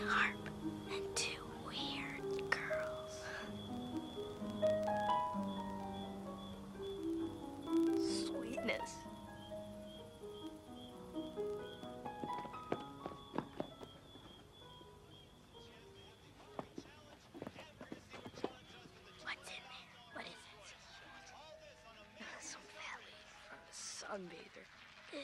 harp and two weird girls. Sweetness. What's in there? What is it? Some fat lady from a sunbather. Ew.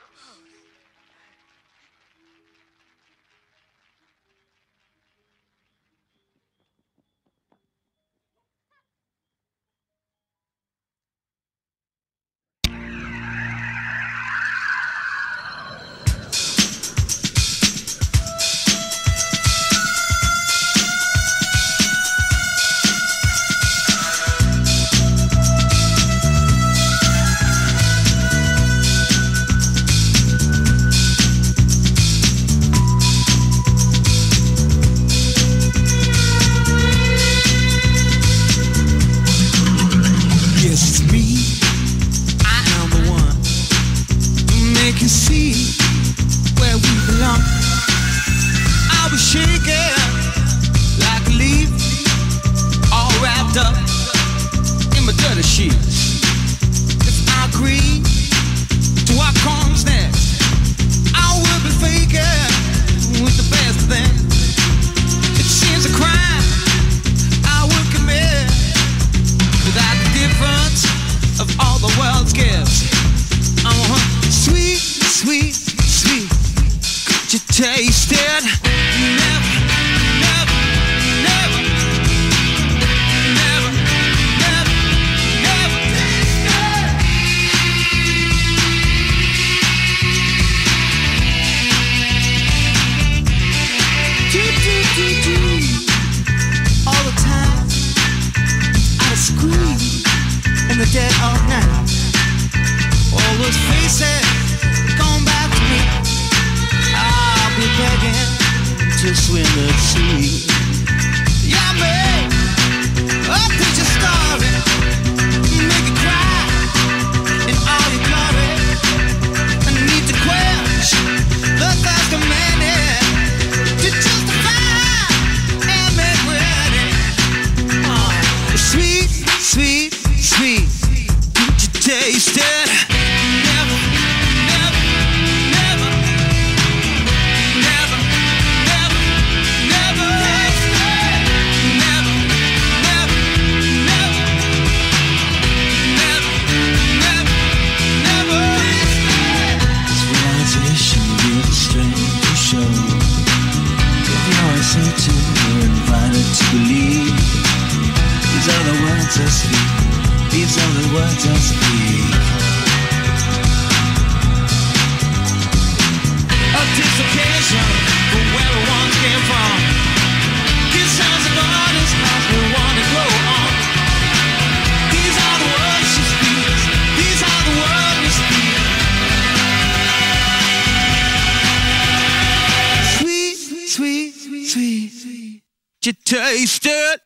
Can see where we belong. I was shaking like a leaf, all wrapped up in my dirty sheets. If I agree to what comes next, I will be faking with the best of them. It seems a crime I would commit without the difference of all the world's gifts. Sweet, sweet, sweet, could you taste it? Never, never, never, never, never, never taste it. All the time, out of squeeze in the dead of night. All those faces come back to me. I'll be begging to swim the sea. Yeah, man, I'll pitch a story, make it cry in all your glory. I need to quench the thirst of many to justify and make ready. Sweet, sweet, sweet, could you taste it? These are the words I speak. A dislocation from where we once came from. These sounds of artists as we want to grow on. These are the words she speaks. These are the words we speak. Sweet, sweet, sweet, sweet. You taste it.